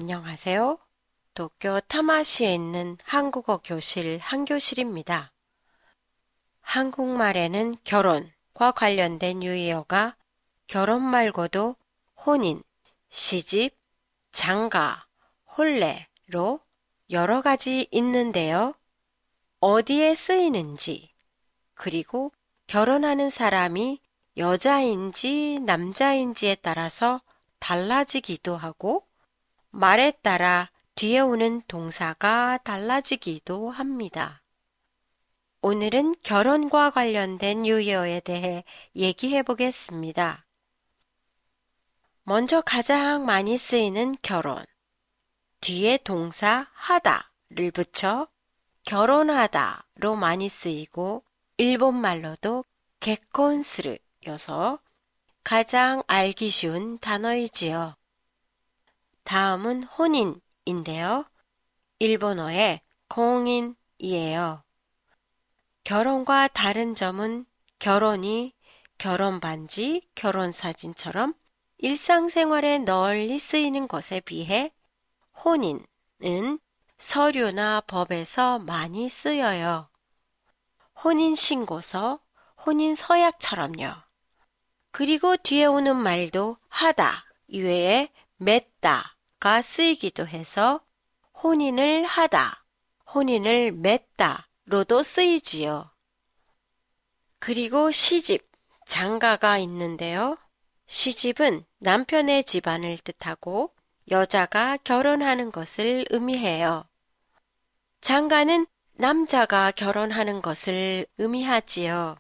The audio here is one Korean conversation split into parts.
안녕하세요. 도쿄 타마시에 있는 한국어 교실 한교실입니다. 한국말에는 결혼과 관련된 유의어가 결혼 말고도 혼인, 시집, 장가, 혼례로 여러 가지 있는데요. 어디에 쓰이는지, 그리고 결혼하는 사람이 여자인지 남자인지에 따라서 달라지기도 하고, 말에 따라 뒤에 오는 동사가 달라지기도 합니다. 오늘은 결혼과 관련된 유의어에 대해 얘기해 보겠습니다. 먼저 가장 많이 쓰이는 결혼. 뒤에 동사 하다를 붙여 결혼하다로 많이 쓰이고 일본말로도 겟콘스르여서 가장 알기 쉬운 단어이지요. 다음은 혼인인데요. 일본어의 공인이에요. 결혼과 다른 점은 결혼이 결혼반지, 결혼사진처럼 일상생활에 널리 쓰이는 것에 비해 혼인은 서류나 법에서 많이 쓰여요. 혼인신고서, 혼인서약처럼요. 그리고 뒤에 오는 말도 하다 이외에 맺다가 쓰이기도 해서 혼인을 하다, 혼인을 맺다로도 쓰이지요. 그리고 시집, 장가가 있는데요. 시집은 남편의 집안을 뜻하고 여자가 결혼하는 것을 의미해요. 장가는 남자가 결혼하는 것을 의미하지요.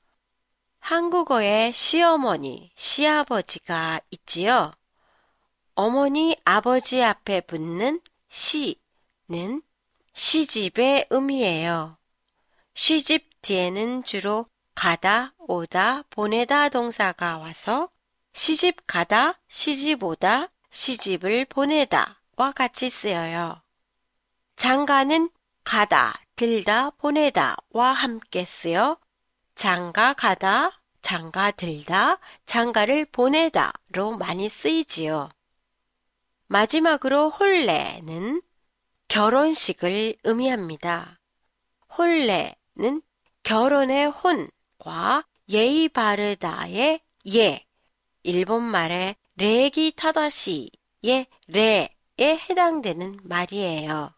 한국어에 시어머니, 시아버지가 있지요. 어머니, 아버지 앞에 붙는 시는 시집의 의미예요. 시집 뒤에는 주로 가다, 오다, 보내다 동사가 와서 시집 가다, 시집 오다, 시집을 보내다와 같이 쓰여요. 장가는 가다, 들다, 보내다와 함께 쓰여 장가 가다, 장가 들다, 장가를 보내다로 많이 쓰이지요. 마지막으로 혼례는 결혼식을 의미합니다. 혼례는 결혼의 혼과 예의 바르다의 예, 일본말의 레기 타다시의 레에 해당되는 말이에요.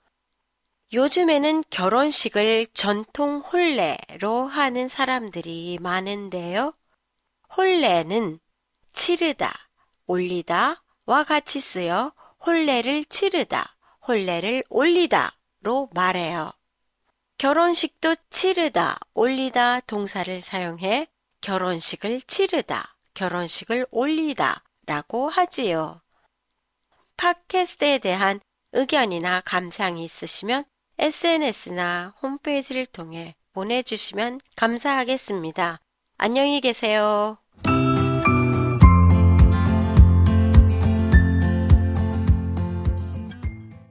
요즘에는 결혼식을 전통 혼례로 하는 사람들이 많은데요. 혼례는 치르다, 올리다와 같이 쓰여 혼례를 치르다, 혼례를 올리다로 말해요. 결혼식도 치르다, 올리다 동사를 사용해 결혼식을 치르다, 결혼식을 올리다 라고 하지요. 팟캐스트에 대한 의견이나 감상이 있으시면 SNS나 홈페이지를 통해 보내주시면 감사하겠습니다. 안녕히 계세요.